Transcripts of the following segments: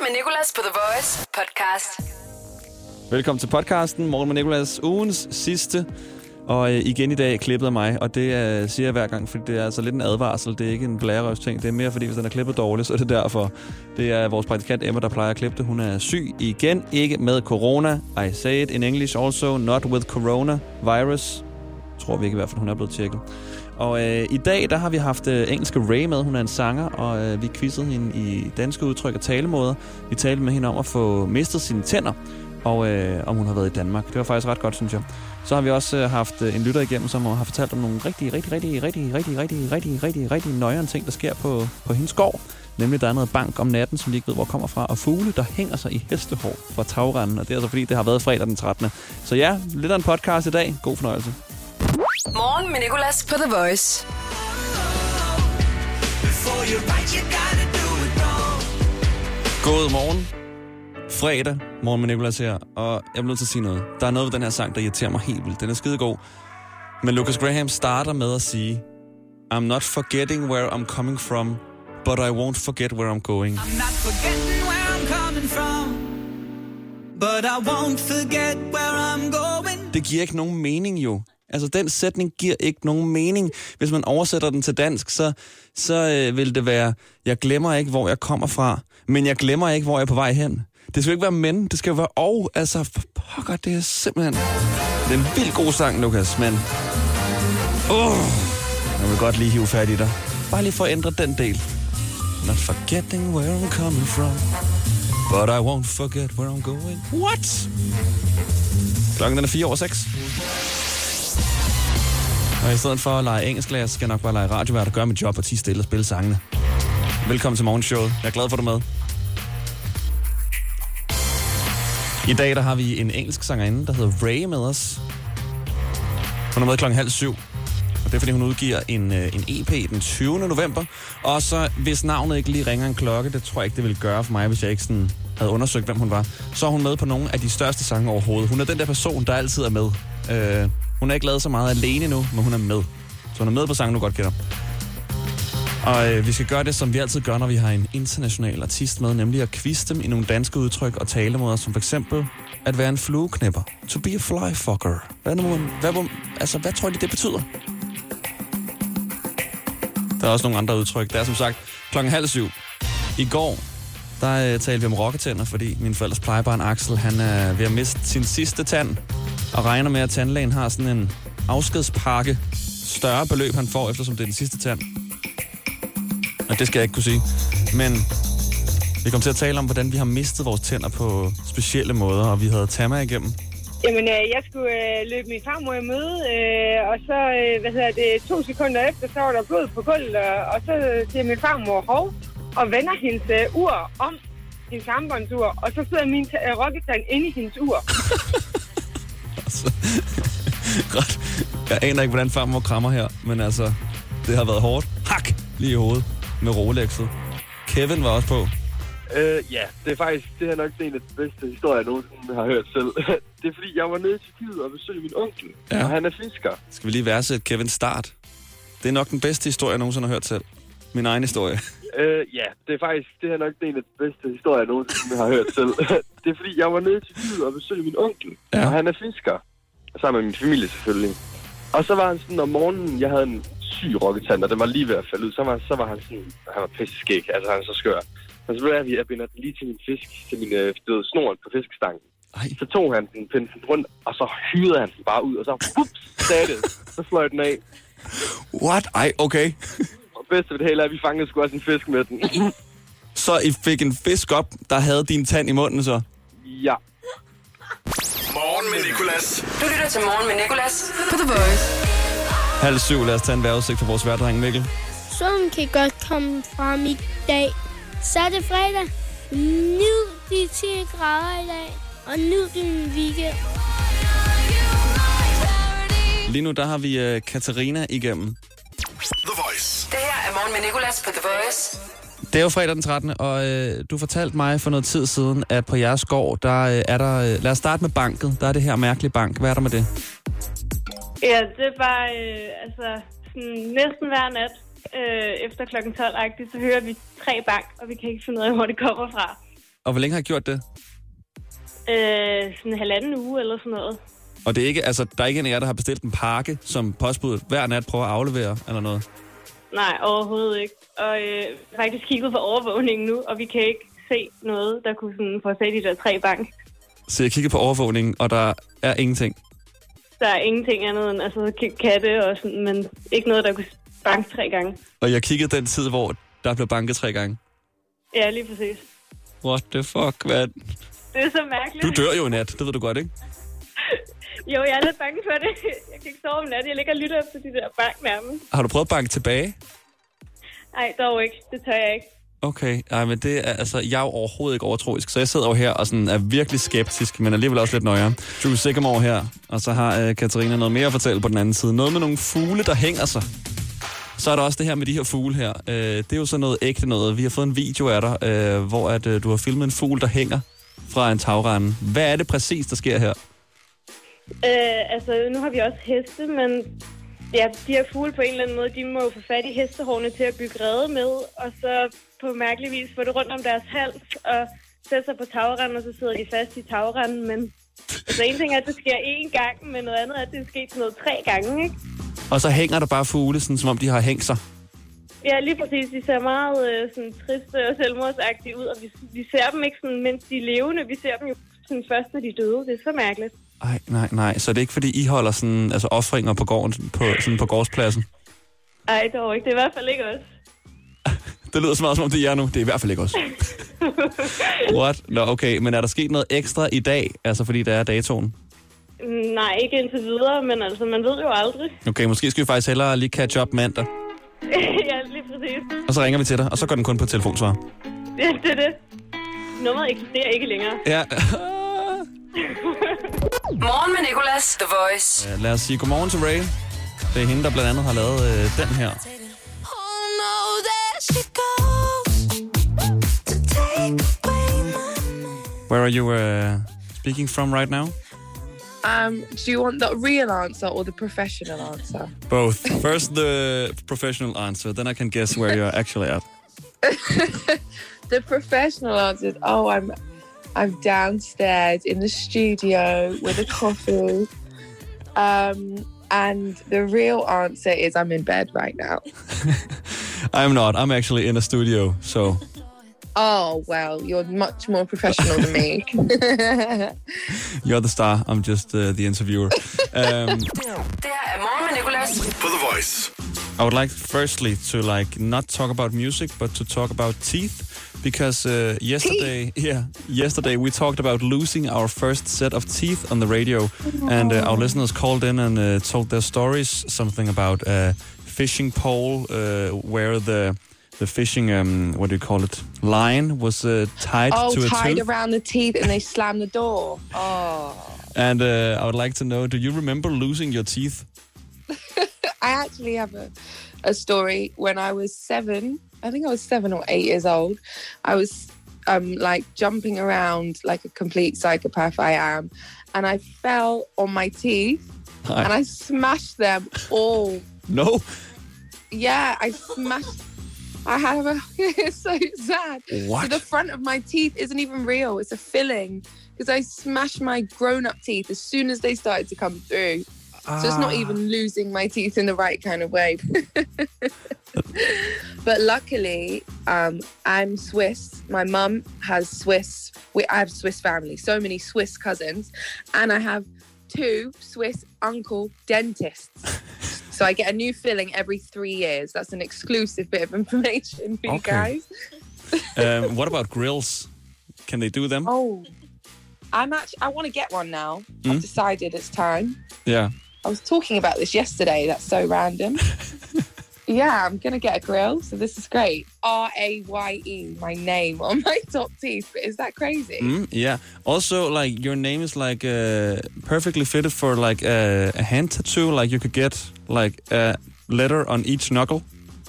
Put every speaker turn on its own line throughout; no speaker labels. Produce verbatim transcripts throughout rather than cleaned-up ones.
med Nicolas på The Voice podcast.
Velkommen til podcasten. Morgen med Nicolas, ugens sidste. Og øh, igen i dag klippet af mig, og det øh, siger jeg hver gang, fordi det er altså lidt en advarsel. Det er ikke en blærerøvs ting. Det er mere fordi, hvis den er klippet dårligt, så er det derfor. Det er vores praktikant Emma, der plejer at klippe det. Hun er syg igen, ikke med corona. I say it in English also, not with corona virus. Tror vi ikke i hvert fald, hun er blevet tjekket. Og øh, i dag, der har vi haft øh, engelske Ray med. Hun er en sanger, og øh, vi quizzede hende i danske udtryk og talemåder. Vi talte med hende om at få mistet sine tænder, og øh, om hun har været i Danmark. Det var faktisk ret godt, synes jeg. Så har vi også øh, haft øh, en lytter igennem, som har fortalt om nogle rigtig, rigtig, rigtig, rigtig, rigtig, rigtig, rigtig, rigtig, rigtig nøjere ting, der sker på, på hendes gård. Nemlig, der er noget bank om natten, som vi ikke ved, hvor kommer fra, og fugle, der hænger sig i hestehår fra tagrenden. Og det er altså fordi, det har været fredag den trettende Så ja, lidt af en podcast i dag. God fornøjelse.
Morgen med Nicolas på The Voice.
God morgen. Fredag, morgen med Nicolas her, og jeg bliver nødt til at sige noget. Der er noget ved den her sang, der irriterer mig helt vildt. Den er skidegod. Men Lucas Graham starter med at sige, I'm not forgetting where I'm coming from, but I won't forget where I'm going.
I'm not forgetting where I'm coming from, but I won't forget where I'm going.
Det giver ikke nogen mening jo. Altså, den sætning giver ikke nogen mening. Hvis man oversætter den til dansk, så, så øh, vil det være, jeg glemmer ikke, hvor jeg kommer fra, men jeg glemmer ikke, hvor jeg er på vej hen. Det skal jo ikke være men, det skal jo være og. Altså, pokker, det er simpelthen... Det er en vildt god sang, Lukas, men... Uh, jeg vil godt lige hive fat i dig. Bare lige for at ændre den del. Not forgetting where I'm coming from, but I won't forget where I'm going. What? Klokken den er fire over seks. Og i stedet for at lege engelsklærer, skal jeg nok bare lege radiovært og gøre mit job og tige stille og spille sangene. Velkommen til morgenshowet. Jeg er glad for, at du er med. I dag der har vi en engelsk sangerinde, der hedder Ray med os. Hun er med klokken halv syv. Og det er, fordi hun udgiver en, en E P den tyvende november. Og så, hvis navnet ikke lige ringer en klokke, det tror jeg ikke, det ville gøre for mig, hvis jeg ikke sådan havde undersøgt, hvem hun var. Så er hun med på nogle af de største sange overhovedet. Hun er den der person, der altid er med. Øh, hun har ikke lavet så meget alene nu, men hun er med. Så hun er med på sangen, du godt kender. Og øh, vi skal gøre det, som vi altid gør, når vi har en international artist med, nemlig at quizze dem i nogle danske udtryk og talemåder, som for eksempel at være en flueknipper. To be a flyfucker. Hvad, nu, hvad, altså, hvad tror de, det betyder? Der er også nogle andre udtryk. Det er som sagt klokken halv syv. I går, der øh, talte vi om rokketænder, fordi min forældres plejebarn Axel, han er ved at miste sin sidste tand, og regner med, at tandlægen har sådan en afskedspakke, større beløb, han får, eftersom det er den sidste tand. Og det skal jeg ikke kunne sige. Men vi kom til at tale om, hvordan vi har mistet vores tænder på specielle måder, og vi havde Tamma igennem.
Jamen, øh, jeg skulle øh, løbe min farmor i møde, øh, og så, øh, hvad hedder det, to sekunder efter, så var der blod på gulvet, og, og så siger min farmor hov, og vender hendes øh, ur om, hendes armbåndsur, og så sidder min øh, rokketand inde i hendes ur.
altså, godt. Jeg aner ikke, hvordan farmor krammer her, men altså, det har været hårdt. Hak! Lige i hovedet med Rolexet. Kevin var også på.
Øh, ja, det er faktisk det er nok en af de bedste historier, jeg nogensinde har hørt selv. Det er fordi, jeg var nede til Tyrkiet og besøgte min onkel, ja. Og han er fisker.
Skal vi lige værdsætte Kevins start? Det er nok den bedste historie, jeg nogensinde har hørt selv. Min egen historie.
Øh, ja, det er faktisk det er nok en af de bedste historier, jeg nogensinde har hørt selv. Det er fordi, jeg var nede til Tyrkiet og besøgte min onkel, ja. Og han er fisker. Sammen med min familie selvfølgelig. Og så var han sådan om morgenen, jeg havde en syg rokketand, og den var lige ved at falde ud. Så var, så var han sådan, han var pisseskæg, altså han er så skør. Og så blev jeg, jeg binder den lige til min fisk, til min øh, snoren på fiskestangen. Ej. Så tog han den, pinden den rundt, og så hyrede han den bare ud, og så whoops, sagde det. Så fløj den af.
What? Ej, okay.
Og bedst ved det hele er, at vi fangede sgu også en fisk med den.
Så I fik en fisk op, der havde din tand i munden så?
Ja.
Morgen med Nicolas.
Du lytter til Morgen med Nicolas på The Voice.
Halv syv, lad os tage en vejrudsigt for vores værdreng Mikkel.
Solen kan godt komme frem i dag. Så er det fredag. Nyd de ti grader i dag, og nyd din weekend.
Lige nu, der har vi uh, Katarina igennem.
The Voice.
Det her er Morgen med Nicolas på The Voice.
Det er jo fredag den trettende og øh, du fortalte mig for noget tid siden, at på jeres gård, der øh, er der... Øh, lad os starte med banket. Der er det her mærkelige bank. Hvad er der med det?
Ja, det er bare, øh, altså, sådan, næsten hver nat, øh, efter klokken tolv-agtigt, så hører vi tre bank, og vi kan ikke finde ud af, hvor det kommer fra.
Og hvor længe har I gjort det?
Øh, sådan en halvanden uge eller sådan noget.
Og det er ikke, altså, der er ikke en af jer, der har bestilt en pakke, som postbuddet hver nat prøver at aflevere, eller noget?
Nej, overhovedet ikke. Og øh, faktisk kigget på overvågningen nu, og vi kan ikke se noget, der kunne sådan få sat de der tre bank.
Så jeg kigger på overvågningen, og der er ingenting?
Der er ingenting andet end altså, katte og sådan, men ikke noget, der kunne banke tre gange.
Og jeg kiggede den tid, hvor der blev banket tre gange?
Ja, lige præcis.
What the fuck, man?
Det er så mærkeligt.
Du dør jo i nat, det ved du godt, ikke?
Jo, jeg er lidt bange for det. Jeg kan ikke sove om natten. Jeg ligger og lytter efter de der bank nærmest.
Har du prøvet at banke tilbage?
Nej, dog ikke. Det tør jeg ikke.
Okay, ej, men det er, altså, jeg er jo overhovedet ikke overtroisk, så jeg sidder jo her og sådan er virkelig skeptisk, men alligevel også lidt nøjere. Drew Sigamore her, og så har øh, Katarina noget mere at fortælle på den anden side. Noget med nogle fugle, der hænger sig. Så er der også det her med de her fugle her. Øh, det er jo så noget ægte noget. Vi har fået en video af dig, øh, hvor at, øh, du har filmet en fugl, der hænger fra en tagrende. Hvad er det præcis, der sker her?
Øh, altså, nu har vi også heste, men ja, de her fugle på en eller anden måde, de må jo få fat i hestehårene til at bygge rede med, og så på mærkelig vis få det rundt om deres hals og sætte sig på tagrenden, og så sidder de fast i tagrenden. Men altså, en ting er, at det sker én gang, men noget andet er, at det er sket sådan noget tre gange, ikke?
Og så hænger der bare fugle, sådan, som om de har hængt sig.
Ja, lige præcis. De ser meget øh, sådan, triste og selvmordsagtige ud, og vi, vi ser dem ikke sådan, mens de er levende. Vi ser dem jo sådan, først, når de er døde. Det er så mærkeligt.
Ej, nej, nej. Så det er ikke, fordi I holder sådan, altså offringer på gården, på, sådan på gårdspladsen?
Ej, dog ikke. Det er i hvert fald ikke os.
Det lyder så meget, som om det er nu. Det er i hvert fald ikke os. What? Nå, okay. Men er der sket noget ekstra i dag, altså fordi der er datoen?
Nej, ikke indtil videre, men altså, man ved jo aldrig.
Okay, måske skal vi faktisk hellere lige catch up mandag.
Ja, lige præcis.
Og så ringer vi til dig, og så går den kun på telefonsvar.
Ja, det er det. Nummeret eksisterer ikke længere.
Ja.
Morgen med Nicolas, The Voice.
Uh, lad os sige godmorgen til Ray. Det er hende, der blandt andet har lavet uh, den her. Where are you uh, speaking from right now?
Um, do you want the real answer or the professional answer?
Both. First the professional answer, then I can guess where you're actually at.
The professional answer is, oh, I'm I'm downstairs in the studio with a coffee. Um, and the real answer is I'm in bed right now.
I'm not. I'm actually in a studio, so...
Oh, well, you're much more professional than me.
You're the star. I'm just uh, the interviewer. Um,
Det her er Morgen med Nicolas.
På The Voice.
I would like firstly to like not talk about music, but to talk about teeth, because uh, yesterday, teeth. yeah, yesterday we talked about losing our first set of teeth on the radio, oh. and uh, our listeners called in and uh, told their stories, something about a fishing pole uh, where the the fishing, um, what do you call it, line was uh, tied
oh,
to a tooth.
Oh, tied around the teeth, and they slammed the door. Oh.
And uh, I would like to know, do you remember losing your teeth?
I actually have a, a story. When I was seven, I think I was seven or eight years old, I was um, like jumping around like a complete psychopath I am, and I fell on my teeth, Hi. and I smashed them all.
No?
Yeah, I smashed... I have a... It's so sad.
What?
So the front of my teeth isn't even real. It's a filling. Because I smashed my grown-up teeth as soon as they started to come through. Ah. So it's not even losing my teeth in the right kind of way. But luckily, um, I'm Swiss. My mum has Swiss... We, I have Swiss family. So many Swiss cousins. And I have two Swiss uncle dentists. So I get a new filling every three years. That's an exclusive bit of information for okay. you
guys. um, what about grills? Can they do them?
Oh, I'm actually, I want to get one now. Mm? I've decided it's time.
Yeah.
I was talking about this yesterday. That's so random. Yeah, I'm going to get a grill. So this is great. R A Y E, my name on my top teeth. But is that crazy?
Mm, yeah. Also, like, your name is, like, uh, perfectly fitted for, like, a, a hand tattoo. Like, you could get, like, a letter on each knuckle.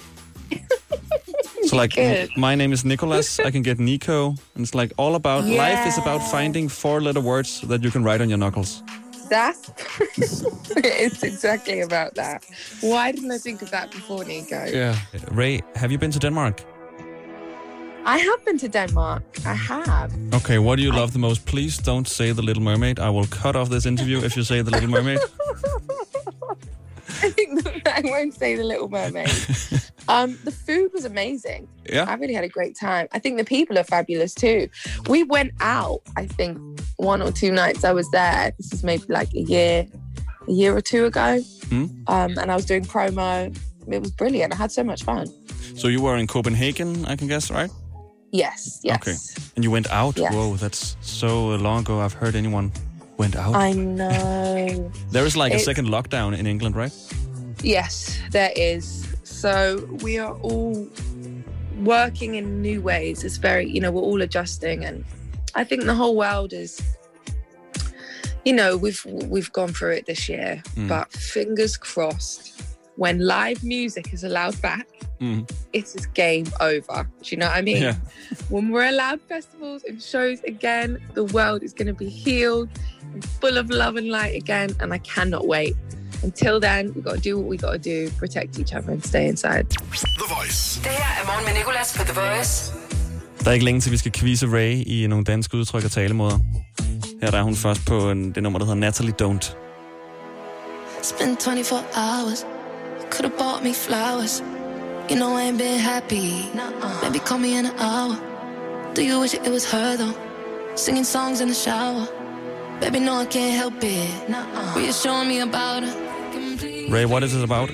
So, like, m- my name is Nicolas. I can get Nico. And it's, like, all about... Yeah. Life is about finding four-letter words that you can write on your knuckles.
That's... It's exactly about that. Why didn't I think of that before, Nico?
Yeah. Ray, have you been to Denmark?
I have been to Denmark. I have.
Okay, what do you love the most? Please don't say The Little Mermaid. I will cut off this interview if you say The Little Mermaid.
I think that I won't say The Little Mermaid. um, the food was amazing.
Yeah.
I really had a great time. I think the people are fabulous too. We went out, I think, one or two nights I was there. This is maybe like a year, a year or two ago.
Mm.
Um, and I was doing promo. It was brilliant. I had so much fun.
So you were in Copenhagen, I can guess, right?
Yes, yes.
Okay. And you went out?
Yes.
Whoa, that's so long ago I've heard anyone went out.
I know.
There is like
It's-
a second lockdown in England, right?
Yes, there is. So we are all working in new ways. It's very, you know, we're all adjusting, and I think the whole world is, you know, we've we've gone through it this year.
Mm.
But fingers crossed, when live music is allowed back,
Mm.
it is game over. Do you know what I mean?
Yeah.
When we're allowed festivals and shows again, the world is going to be healed and full of love and light again, and I cannot wait. Until then, we got to do what we got to do, protect each other and stay inside.
The Voice.
Det her er Morgen med Nicolas på The Voice.
Der er ikke længe til, vi skal quizze Ray i nogle danske udtryk og talemåder. Her der er hun først på en, det nummer, der hedder Natalie Don't.
It's been twenty-four hours. You could have bought me flowers. You know I ain't been happy. Nuh-uh. Maybe call me in an hour. Do you wish it was her though? Singing songs in the shower. Baby, no, I can't help it. Nuh-uh. Reassuring me about her.
Ray, what is it about?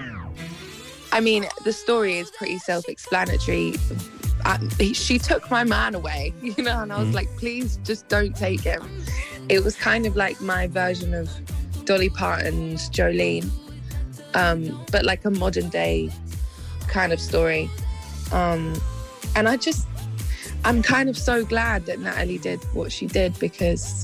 I mean, the story is pretty self-explanatory. I, he, she took my man away, you know, and I was
Mm.
like, please just don't take him. It was kind of like my version of Dolly Parton's Jolene, um, but like a modern day kind of story. Um, and I just, I'm kind of so glad that Natalie did what she did, because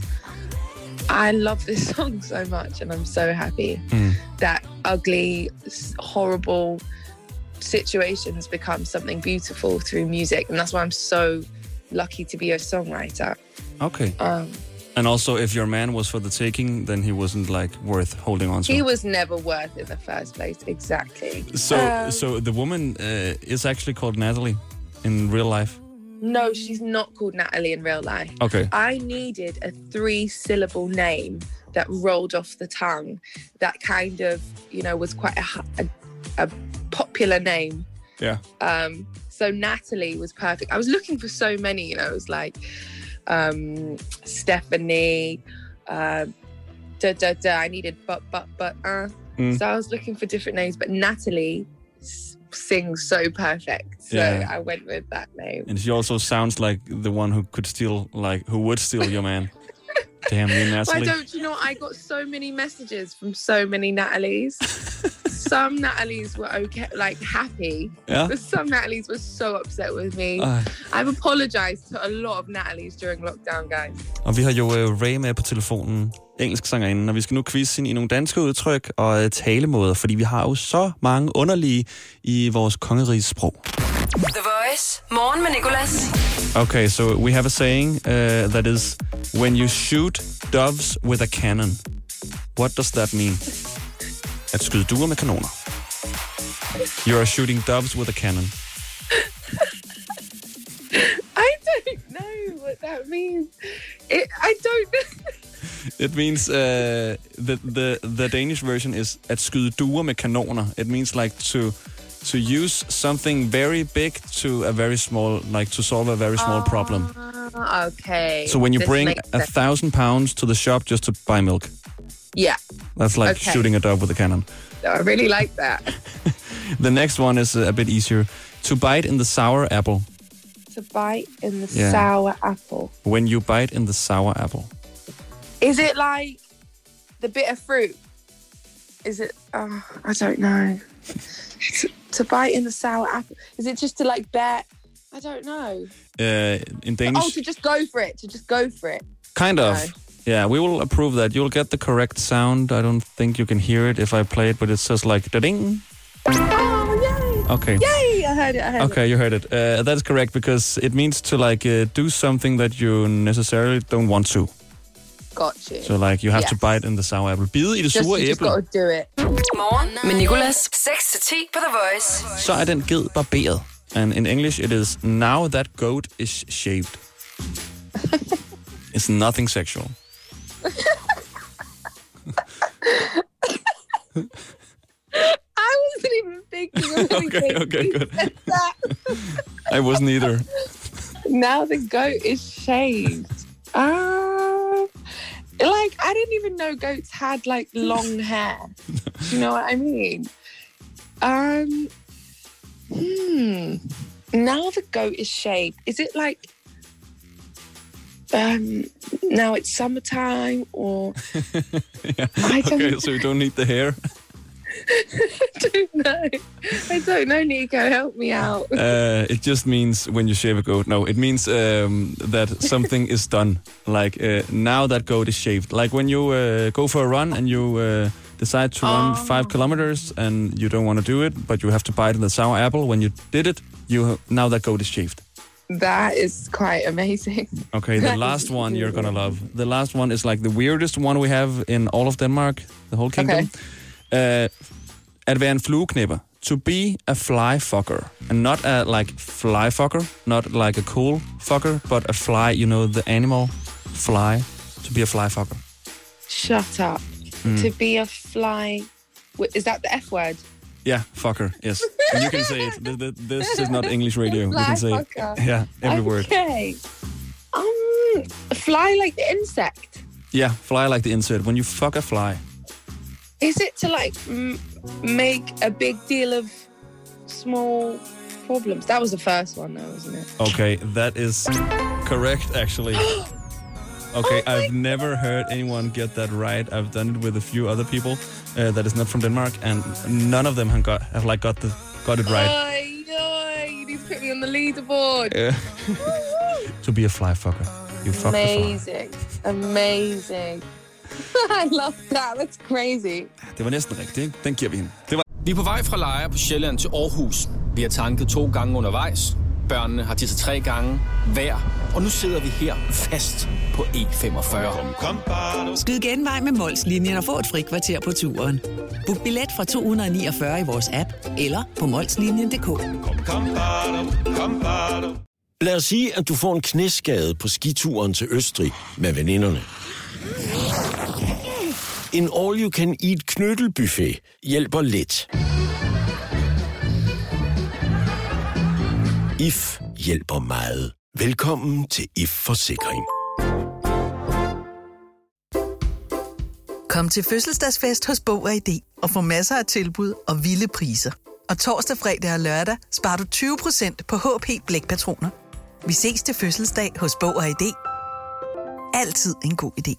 I love this song so much, and I'm so happy
Mm.
that ugly, horrible situation has become something beautiful through music, and that's why I'm so lucky to be a songwriter.
Okay.
Um,
And also, if your man was for the taking, then he wasn't like worth holding on to.
he was never worth in the first place. Exactly.
So,
Um,
so the woman uh, is actually called Natalie in real life.
No, she's not called Natalie in real life.
Okay.
I needed a three-syllable name that rolled off the tongue, that kind of, you know, was quite a, a, a popular name.
Yeah.
Um, so Natalie was perfect. I was looking for so many, you know, it was like um, Stephanie, uh, da da da. I needed but but but uh.
Mm.
So I was looking for different names, but Natalie s- sings so perfect, so
Yeah.
I went with that name.
And she also sounds like the one who could steal, like, who would steal your man. Damn you,
Why
Natalie.
don't you know? I got so many messages from so many Natalies. Some Natalies were okay, like happy,
Yeah.
but some Natalies were so upset with me.
Ej.
I've apologized to a lot of Natalies during lockdown, guys.
Og vi har jo uh, Ray med på telefonen, engelsk sangerinde, og vi skal nu quizze hende i nogle danske udtryk og uh, talemåder, fordi vi har jo så mange underlige i vores kongeriges sprog.
The Voice. Morgen med Nicolas.
Okay, so we have a saying uh, that is, when you shoot doves with a cannon. What does that mean? At skyde duer med kanoner. You are shooting doves with a cannon.
I don't know what that means. It, I don't know.
It means uh, the, the the Danish version is at skyde duer med kanoner. It means like to to use something very big to a very small, like to solve a very small problem.
Ah, okay.
So when you
This
bring
makes
a
sense.
thousand pounds to the shop just to buy milk,
Yeah,
that's like
Okay.
shooting a dove with a cannon.
I really like that.
The next one is a bit easier. To bite in the sour apple.
To bite in the
Yeah.
sour apple.
When you bite in the sour apple.
Is it like the bitter fruit? Is it? Oh, I don't know. to, to bite in the sour apple. Is it just to like bear? I don't know.
Uh, in Danish,
Oh, to just go for it. To just go for it.
kind of.
No.
Yeah, we will approve that. You'll get the correct sound. I don't think you can hear it if I play it, but it says like da-ding.
Oh, yay!
Okay.
Yay! I heard it. I heard
Okay,
it.
you heard it. Uh, that's correct because it means to like uh, do something that you necessarily don't want to.
Got you.
So like you have
Yes.
to bite in the sour apple. Bide i det
just,
sure
you just
æble.
got to do it.
Morgen med Nicolas. seks til ti på The Voice.
Så er den ged barberet. And in English, it is, now that goat is shaved. It's nothing sexual.
I wasn't even thinking of
Okay, okay, good. I wasn't either.
Now the goat is shaved. Uh, like, I didn't even know goats had, like, long hair. Do you know what I mean? Um, hmm. Now the goat is shaved. Is it, like, um, now it's summertime or...
Yeah.
I don't
Okay,
know.
so you don't need the hair?
I don't know. I don't know, Nico. Help me out.
Uh, it just means when you shave a goat. No, it means um, that something is done. Like uh, now that goat is shaved. Like when you uh, go for a run and you uh, decide to run
Oh.
five kilometers and you don't want to do it, but you have to bite the sour apple. When you did it, you now that goat is shaved.
That is quite amazing.
Okay, the last one you're gonna love. The last one is like the weirdest one we have in all of Denmark, the whole kingdom. Uh, at være en flueknipper. To be a fly fucker. And not a like fly fucker, not like a cool fucker, but a fly, you know, the animal fly. To be a fly fucker.
Shut up.
Mm.
To be a fly... Wait, is that the F word?
Yeah, fucker, yes. And you can say it. Th- th- This is not English radio. You
Fly
can say
fucker.
it. Yeah, every word.
Okay. Um, fly like the insect.
Yeah, fly like the insect. When you fuck a fly.
Is it to like m- make a big deal of small problems? That was the first one though, wasn't it?
Okay, that is correct, actually. Okay,
Oh
I've never heard anyone get that right. I've done it with a few other people uh, that is not from Denmark, and none of them have got have like got the got it right.
Oy, oy, you need to put me on the leaderboard.
Uh, to be a fly fucker, you fuck the fly.
Amazing. Amazing. I love that. That's crazy.
Det var næsten rigtigt, ikke? Den giver vi hende. Det var...
Vi er på vej fra Lejre på Sjælland til Aarhus. Vi har tanket to gange undervejs. Børnene har tisset tre gange hver. Og nu sidder vi her fast på E femogfyrre.
Skyd genvej med Mols-linjen og få et frikvarter på turen. Book billet fra to hundrede niogfyrre i vores app eller på molslinjen punktum d k.
Lad os sige, at du får en knæskade på skituren til Østrig med veninderne. En all-you-can-eat knyttelbuffet hjælper lidt. If hjælper meget. Velkommen til If Forsikring.
Kom til fødselsdagsfest hos Bog og I D og få masser af tilbud og vilde priser. Og torsdag, fredag og lørdag sparer du tyve procent på H P blækpatroner. Vi ses til fødselsdag hos Bog og I D. Altid en god idé.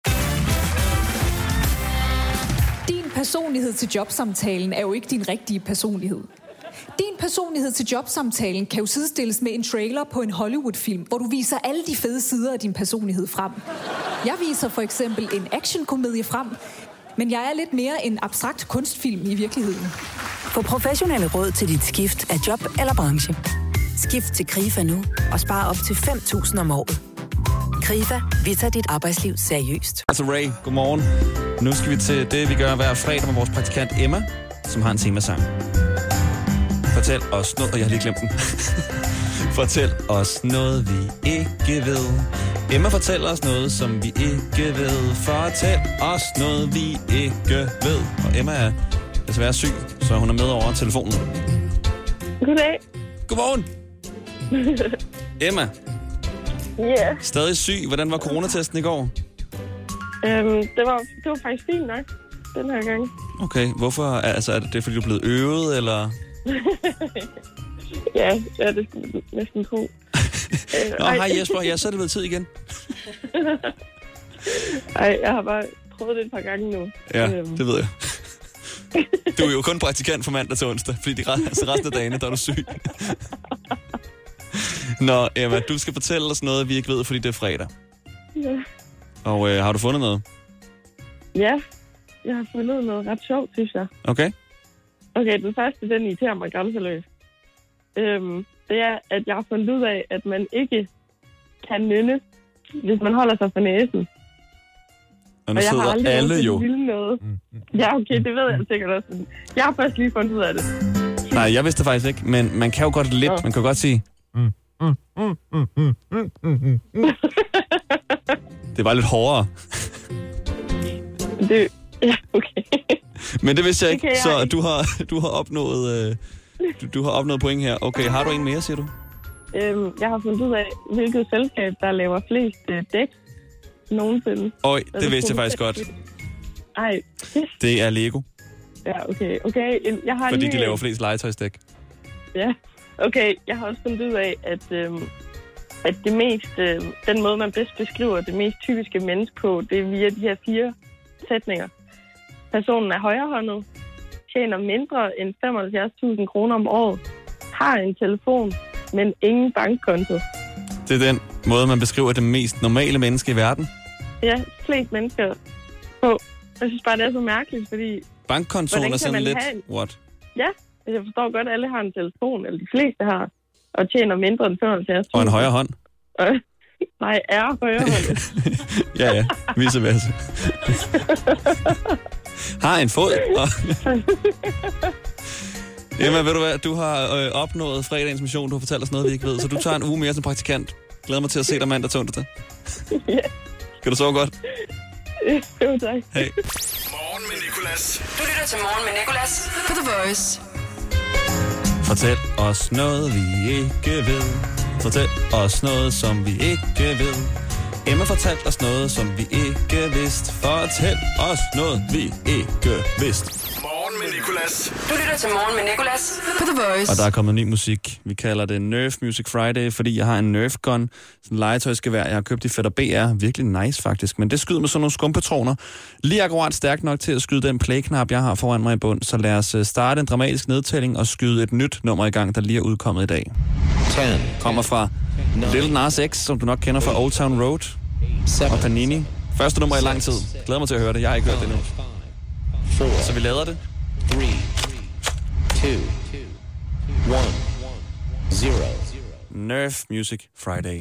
Din personlighed til jobsamtalen er jo ikke din rigtige personlighed. Din personlighed til jobsamtalen kan jo sidestilles med en trailer på en Hollywood-film, hvor du viser alle de fede sider af din personlighed frem. Jeg viser for eksempel en actionkomedie frem, men jeg er lidt mere en abstrakt kunstfilm i virkeligheden.
Få professionelle råd til dit skift af job eller branche. Skift til Krifa nu og spare op til fem tusind om året. Krifa, vi tager dit arbejdsliv seriøst.
Altså Ray, godmorgen. Nu skal vi til det, vi gør hver fredag med vores praktikant Emma, som har en temasang. Fortæl os noget, og jeg har lige glemt den. Fortæl os noget, vi ikke ved. Emma fortæller os noget, som vi ikke ved. Fortæl os noget, vi ikke ved. Og Emma er desværre syg, så hun er med over telefonen.
Goddag.
Godmorgen. Emma.
Ja. Yeah.
Stadig syg. Hvordan var coronatesten i går?
Øhm, det, var, det var faktisk fint nok, den her gang.
Okay, hvorfor? Altså, er det fordi, du er blevet øvet, eller?
Ja, ja, det skulle jeg næsten tro.
Nå, hej Jesper. Ja, så er det blevet tid igen.
Ej, jeg har bare prøvet det et par gange nu.
Ja,
øhm.
det ved jeg. Du er jo kun praktikant fra mandag til onsdag, fordi de altså resten af dagene, der er du syg. Nå, Emma, du skal fortælle os noget, vi ikke ved, fordi det er fredag.
Ja.
Og øh, har du fundet noget?
Ja, jeg har fundet noget ret sjovt, synes jeg.
Okay.
Okay, den første, den irriterer mig grænseløst. Øhm, det er, at jeg har fundet ud af, at man ikke kan nynne, hvis man holder sig for næsen.
Og nu
og jeg har
sidder
aldrig
alle jo.
Noget. Ja, okay, det ved jeg sikkert også. Jeg har først lige fundet ud af det.
Nej, jeg vidste det faktisk ikke, men man kan jo godt lidt. Ja. Man kan jo godt sige... Mm, mm, mm, mm, mm, mm, mm, mm. Det var lidt hårdere.
Det... Ja, okay.
Men det vidste jeg ikke,
jeg
så
ikke.
Du, har, du, har opnået, øh, du, du har opnået point her. Okay, har du en mere, siger du?
Øhm, jeg har fundet ud af, hvilket selskab, der laver flest øh, dæk nogensinde.
Øj, det
altså,
vidste jeg faktisk godt.
Ej.
Det er Lego.
Ja, okay. okay. Jeg har
Fordi
lige...
de laver flest legetøjsdæk.
Ja, okay. Jeg har også fundet ud af, at, øhm, at det mest, øh, den måde, man bedst beskriver det mest typiske menneske på, det er via de her fire sætninger. Personen er højrehåndet, tjener mindre end femoghalvfjerds tusind kroner om året, har en telefon, men ingen bankkonto.
Det er den måde, man beskriver det mest normale menneske i verden.
Ja, flest mennesker på. Jeg synes bare, det er så mærkeligt, fordi...
Bankkontoen er sådan lidt...
En...
What?
Ja, jeg forstår godt, at alle har en telefon, eller de fleste har, og tjener mindre end femoghalvfjerds tusind.
Og en højre hånd.
Nej, er højre hånd.
ja, ja. Vice versa. Har en fod. Og... Emma, ved du hvad? Du har øh, opnået fredagens mission. Du har fortalt os noget, vi ikke ved. Så du tager en uge mere som praktikant. Glæder mig til at se dig mandag til onsdag.
Ja.
Skal du sove godt?
Jo, tak.
Hej.
Morgen med Nicolas.
Du lytter til Morgen med Nicolas på The Voice.
Fortæl os noget, vi ikke ved. Fortæl os noget, som vi ikke ved. Emma fortalte os noget, som vi ikke vidste. Fortæl os noget, vi ikke vidste.
Morgen med Nicolas.
Du lytter til Morgen med Nicolas på The Voice.
Og der er kommet ny musik. Vi kalder det Nerf Music Friday, fordi jeg har en Nerf gun. Sådan en legetøjsgevær, jeg har købt i Fætter B R. Virkelig nice faktisk. Men det skyder med sådan nogle skumpatroner. Lige akkurat stærkt nok til at skyde den play-knap, jeg har foran mig i bund. Så lad os starte en dramatisk nedtælling og skyde et nyt nummer i gang, der lige er udkommet i dag. ten Kommer fra Lil Nas X, som du nok kender fra Old Town Road. Og Panini. Første nummer i lang tid. Glæder mig til at høre det. Jeg har ikke hørt det endnu. Så vi lader det.
three, two, one, zero.
Nerf Music Friday.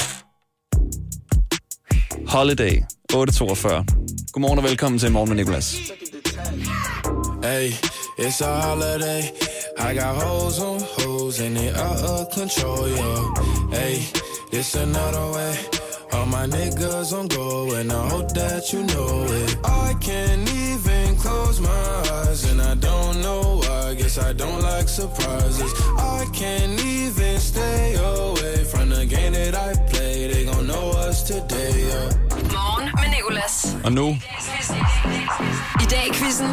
Holiday, otte toogfyrre. Godmorgen og velkommen til Morgen med Nicolas.
Hey, it's a holiday. I got hoes on hoes and they out of control, yo. Hey, it's another way. All my niggas on go and I hope that you know it. I can't even close my eyes and I don't know why. Guess I don't like surprises. I can't even stay away from the game that I play. They gon' know us today, yeah.
Morgen med Nicolas.
Og nu...
I dag i quizzen.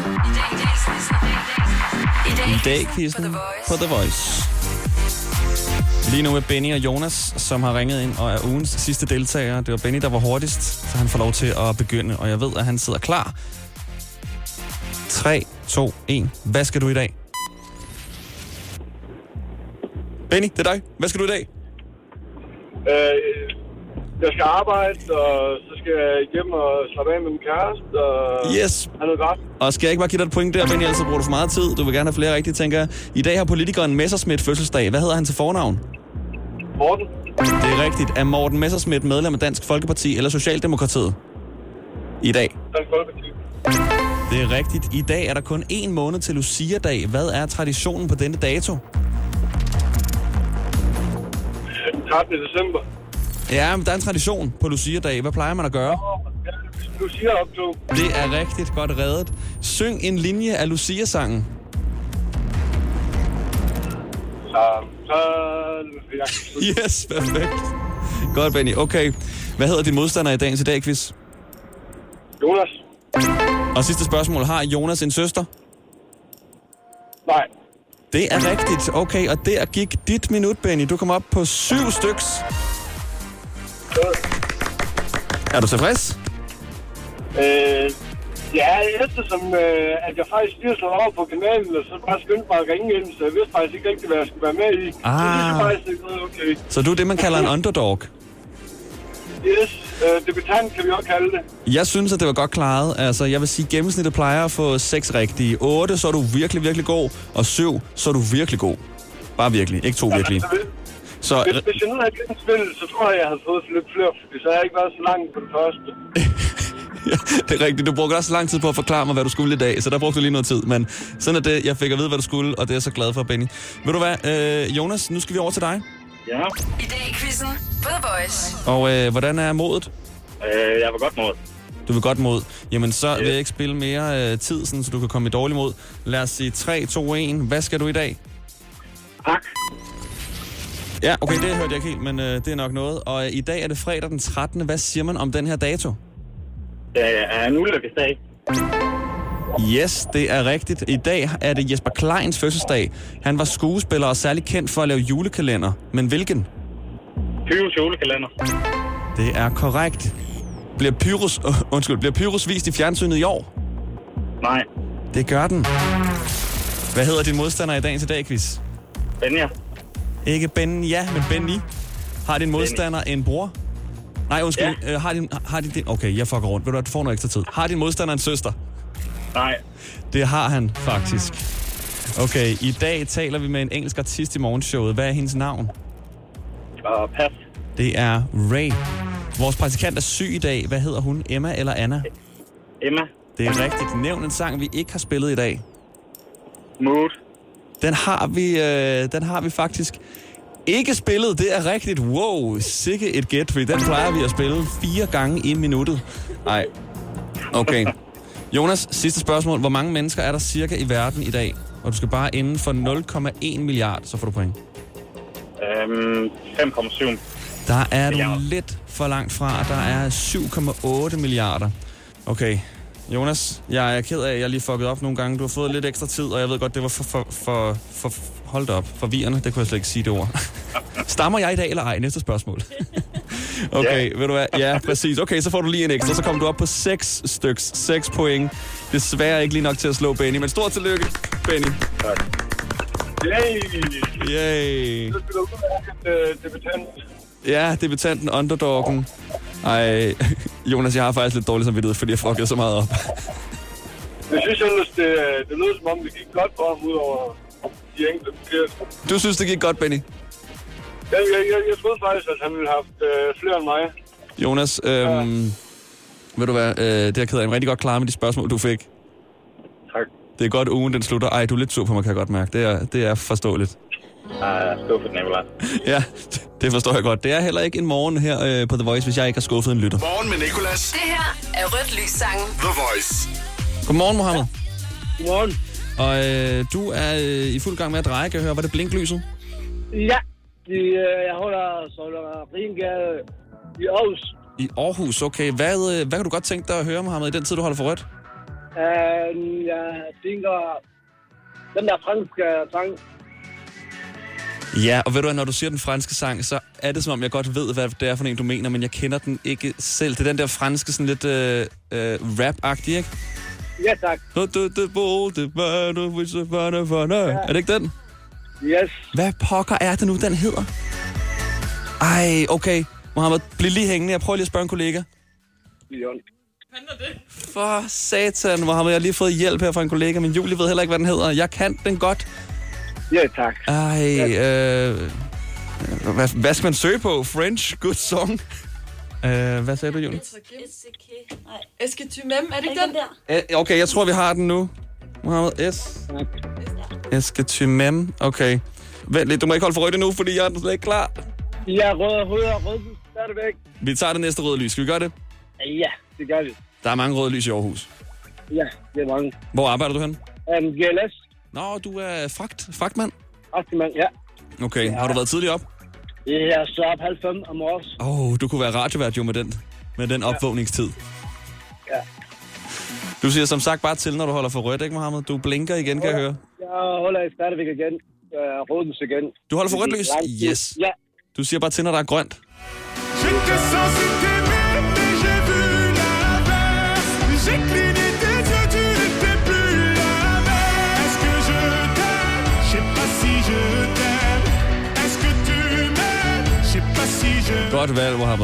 I dag quizzen på The Voice. Lige nu er Benny og Jonas, som har ringet ind og er ugens sidste deltager. Det var Benny, der var hurtigst, så han får lov til at begynde. Og jeg ved, at han sidder klar. tre, to, et. Hvad skal du i dag? Benny, det er dig. Hvad skal du i dag?
Øh, jeg skal arbejde, og så skal jeg hjem og slappe af med min kæreste, og
yes.
have noget godt.
Og skal jeg ikke bare give dig et point der, Benny, ellers bruger du for meget tid. Du vil gerne have flere rigtige, tænker jeg. I dag har politikeren Messerschmidt fødselsdag. Hvad hedder han til fornavn?
Morten.
Det er rigtigt. Er Morten Messerschmidt medlem af Dansk Folkeparti eller Socialdemokratiet? I dag.
Dansk Folkeparti.
Det er rigtigt. I dag er der kun en måned til Lucia-dag. Hvad er traditionen på denne dato?
trettende december.
Ja, men der er en tradition på Lucia-dag. Hvad plejer man at gøre?
Lucia-optog.
Det er rigtigt godt reddet. Syng en linje af Lucia-sangen. Yes, perfekt. Godt, Benny. Okay. Hvad hedder din modstander i dagens i dag, quiz?
Jonas.
Og sidste spørgsmål. Har Jonas en søster?
Nej.
Det er rigtigt. Okay, og der gik dit minut, Benny. Du kom op på syv styks. Er du tilfreds?
Øh, ja, eftersom øh, at jeg faktisk lige slået over på kanalen, og så bare skyndte mig at ringe ind, så jeg vidste faktisk ikke rigtig, hvad jeg skulle være med i.
Ah.
Så det er faktisk ikke noget okay.
Så du er det, man kalder en underdog?
Yes, øh, debutant kan vi også kalde det.
Jeg synes, at det var godt klaret. Altså, jeg vil sige, at gennemsnittet plejer at få seks rigtige. otte, så er du virkelig, virkelig god. Og syv, så er du virkelig god. Bare virkelig, ikke to virkelig.
Så, hvis, hvis jeg nu havde gennem spillet, så tror jeg, jeg havde fået lidt flere, fordi så havde jeg ikke været så langt på det første.
Ja, det er rigtigt. Du brugte også lang tid på at forklare mig, hvad du skulle i dag, så der brugte du lige noget tid. Men sådan er det. Jeg fik at vide, hvad du skulle, og det er jeg så glad for, Benny. Ved du hvad, øh, Jonas, nu skal vi over til dig.
Ja.
I dag i quizzen på The Voice.
Og øh, hvordan er modet?
Øh, jeg var godt mod.
Du vil godt mod. Jamen, så vil jeg ikke spille mere øh, tid, sådan, så du kan komme i dårlig mod. Lad os sige tre, to, et. Hvad skal du i dag?
Tak.
Ja, okay, det hørte jeg ikke helt, men øh, det er nok noget. Og øh, i dag er det fredag den trettende Hvad siger man om den her dato?
Det er en ulykkesdag.
Yes, det er rigtigt. I dag er det Jesper Kleins fødselsdag. Han var skuespiller og særlig kendt for at lave julekalender. Men hvilken?
Pyrus julekalender.
Det er korrekt. Bliver Pyrus, uh, undskyld, bliver Pyrus vist i fjernsynet i år?
Nej.
Det gør den. Hvad hedder din modstander i dagens i dag, quiz?
Benja.
Ikke Ben, ja, men Benny. Har din modstander en bror? Nej, undskyld. Ja. Øh, har din, har din, okay, jeg fucker rundt. Ved du hvad, du får noget ekstra tid. Har din modstander en søster?
Nej.
Det har han faktisk. Okay, i dag taler vi med en engelsk artist i morgenshowet. Hvad er hendes navn?
Uh, pas.
Det er Ray. Vores praktikant er syg i dag. Hvad hedder hun? Emma eller Anna?
Emma.
Det er rigtigt. Nævn en sang, vi ikke har spillet i dag.
Mood.
Den har vi, øh, den har vi faktisk ikke spillet. Det er rigtigt. Wow, sikke et gæt, fordi den plejer vi at spille fire gange i minuttet. Nej. Okay. Jonas, sidste spørgsmål. Hvor mange mennesker er der cirka i verden i dag? Og du skal bare inden for nul komma en milliard, så får du point.
Øhm, fem komma syv.
Der er du lidt for langt fra. Der er syv komma otte milliarder. Okay. Jonas, jeg er ked af, at jeg lige fucket op nogle gange. Du har fået lidt ekstra tid, og jeg ved godt, det var for... for, for, for hold da op. Forvirrende, det kunne jeg slet ikke sige det ord. Stammer jeg i dag eller ej? Næste spørgsmål. Okay, ved du hvad? Ja, præcis. Okay, så får du lige en ekstra. Så kommer du op på seks styks. seks point. Desværre ikke lige nok til at slå Benny, men stort tillykke, Benny.
Tak. Yay!
Yay!
Så skal du have en debutant.
Ja, debutanten, underdoggen. Ej, Jonas, jeg har faktisk lidt dårlig samvittighed, fordi jeg fuckede så meget op.
Jeg synes ellers, det, det lød som om, det gik godt for ham ud over de enkelte forkerte.
Du synes, det gik godt, Benny?
Ja, jeg, jeg, jeg troede faktisk, at han ville have haft øh, flere end mig.
Jonas, øhm, ja. Ved du hvad, øh, det har ked af en rigtig godt klar med de spørgsmål, du fik.
Tak.
Det er godt, ugen den slutter. Ej, du er lidt sur på mig, kan jeg godt mærke. Det er, det er forståeligt.
Nej, jeg er skuffet, Nicolaj.
Ja, det forstår jeg godt. Det er heller ikke en morgen her øh, på The Voice, hvis jeg ikke har skuffet en lytter.
Morgen med Nicolas.
Det her er Rødt Lys-sangen.
The Voice.
Godmorgen, Mohammed.
Godmorgen.
Og øh, du er øh, i fuld gang med at dreje, kan jeg høre. Var det blinklyset?
Ja, de, øh, jeg holder så Ringade i Aarhus.
I Aarhus, okay. Hvad, øh, hvad kan du godt tænke dig at høre, Mohammed, i den tid, du holder for rødt?
Uh, jeg tænker, den der franske sang.
Ja, og ved du hvad, når du siger den franske sang, så er det som om, jeg godt ved, hvad det er for en, du mener, men jeg kender den ikke selv. Det er den der franske, sådan lidt øh, øh, rap-agtige, ikke?
Ja, tak.
Ja. Er det ikke den?
Yes.
Hvad pokker er det nu, den hedder? Ej, okay. Mohammed, bliv lige hængende. Jeg prøver lige at spørge en kollega.
Leon.
For satan, Mohammed. Jeg har lige fået hjælp her fra en kollega, men Julie ved heller ikke, hvad den hedder. Jeg kan den godt.
Ja, tak.
Ej, øh, hvad, hvad skal man søge på? French, good song. Øh, hvad sagde du, Julie?
Eske tu mem, er det ikke den der?
Æ, okay, jeg tror, vi har den nu. Mohammed S. Eske tu mem. Okay. Vent lidt, du må ikke holde for rødt nu, fordi jeg er slet ikke klar.
Ja, rød og rød og rød. Stadigvæk.
Vi tager det næste røde lys. Skal vi gøre det?
Ja, det gør vi.
Der er mange røde lys i Aarhus.
Ja, det er mange.
Hvor arbejder du hen?
Um, G L S.
Nå, du er fragt, fragtmand?
Fragtmand, ja.
Okay, ja. Har du været tidligt op?
Ja, så op halv fem om morges.
Åh, oh, du kunne være radiovært jo med den, med den opvågningstid.
Ja.
Du siger som sagt bare til, når du holder for rødt, ikke Mohammed? Du blinker igen, kan jeg høre.
Jeg holder stadigvæk igen. Uh, Rødens igen.
Du holder for rødt lys? Yes.
Ja.
Du siger bare til, når der er grønt. Godt valg, Mohammed.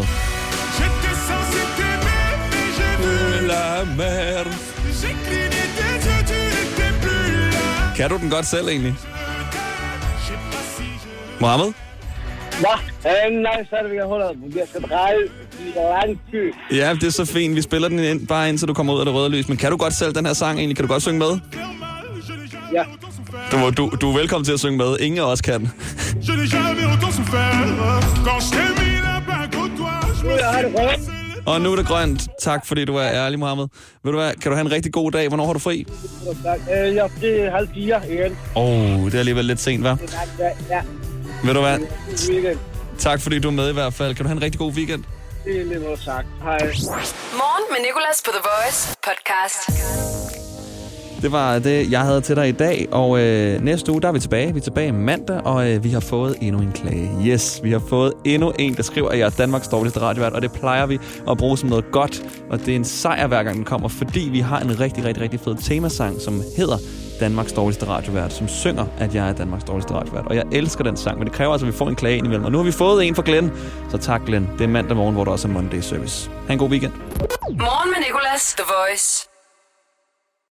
Kan du den godt selv, egentlig? Mohammed?
Ja. Øh, nej, så er det, vi kan holde. Jeg skal dreje i lang tid.
Ja, det er så fint. Vi spiller den ind, bare indtil du kommer ud af det røde lys. Men kan du godt selv den her sang egentlig? Kan du godt synge med?
Ja.
Du, du, du er velkommen til at synge med. Ingen af os kan. Og nu er det grønt. Tak, fordi du er ærlig, Mohammed. Ved du hvad, kan du have en rigtig god dag? Hvornår har du fri?
Tak. Øh, jeg er halv fire igen.
Åh, oh, det er alligevel lidt sent, hva'?
Ja, ja.
Ved du hvad? Tak, fordi du er med i hvert fald. Kan du have en rigtig god weekend?
Det er lidt noget sagt. Hej.
Morgen med Nicolas på The Voice podcast.
Det var det, jeg havde til dig i dag, og øh, næste uge, der er vi tilbage. Vi er tilbage mandag, og øh, vi har fået endnu en klage. Yes, vi har fået endnu en, der skriver, at jeg er Danmarks dårligste radiovært, og det plejer vi at bruge som noget godt, og det er en sejr, hver gang den kommer, fordi vi har en rigtig, rigtig, rigtig fed temasang, som hedder Danmarks dårligste radiovært, som synger, at jeg er Danmarks dårligste radiovært. Og jeg elsker den sang, men det kræver altså, at vi får en klage ind imellem. Og nu har vi fået en fra Glenn, så tak Glenn. Det er mandag morgen, hvor der også er Monday Service. Ha' en god weekend.
Morgen med Nicolas, The Voice.